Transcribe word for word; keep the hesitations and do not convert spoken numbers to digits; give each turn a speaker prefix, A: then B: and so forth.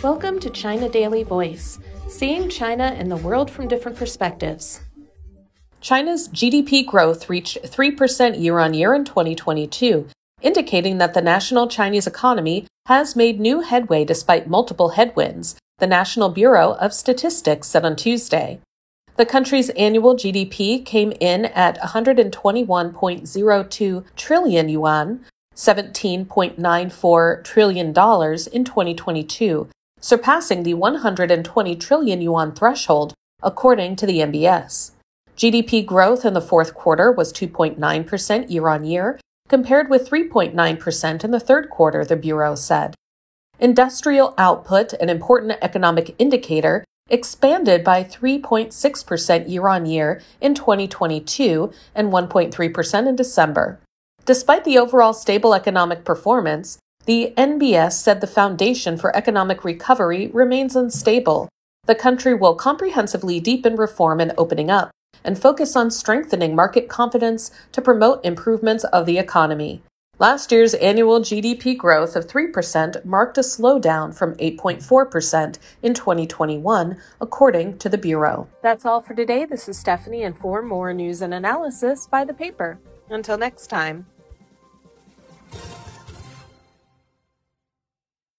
A: Welcome to China Daily Voice, seeing China and the world from different perspectives. China's G D P growth reached three percent year-on-year in twenty twenty-two, indicating that the national Chinese economy has made new headway despite multiple headwinds, the National Bureau of Statistics said on Tuesday. The country's annual G D P came in at one hundred twenty-one point zero two trillion yuan, seventeen point nine four trillion dollars in twenty twenty-two, surpassing the one hundred twenty trillion yuan threshold, according to the M B S. G D P growth in the fourth quarter was two point nine percent year-on-year, compared with three point nine percent in the third quarter, the Bureau said. Industrial output, an important economic indicator, expanded by three point six percent year-on-year in twenty twenty-two and one point three percent in December. Despite the overall stable economic performance, the N B S said the foundation for economic recovery remains unstable. The country will comprehensively deepen reform and opening up, and focus on strengthening market confidence to promote improvements of the economy. Last year's annual G D P growth of three percent marked a slowdown from eight point four percent in twenty twenty-one, according to the Bureau. That's all for today. This is Stephanie, and for more news and analysis, buy the paper. Until next time.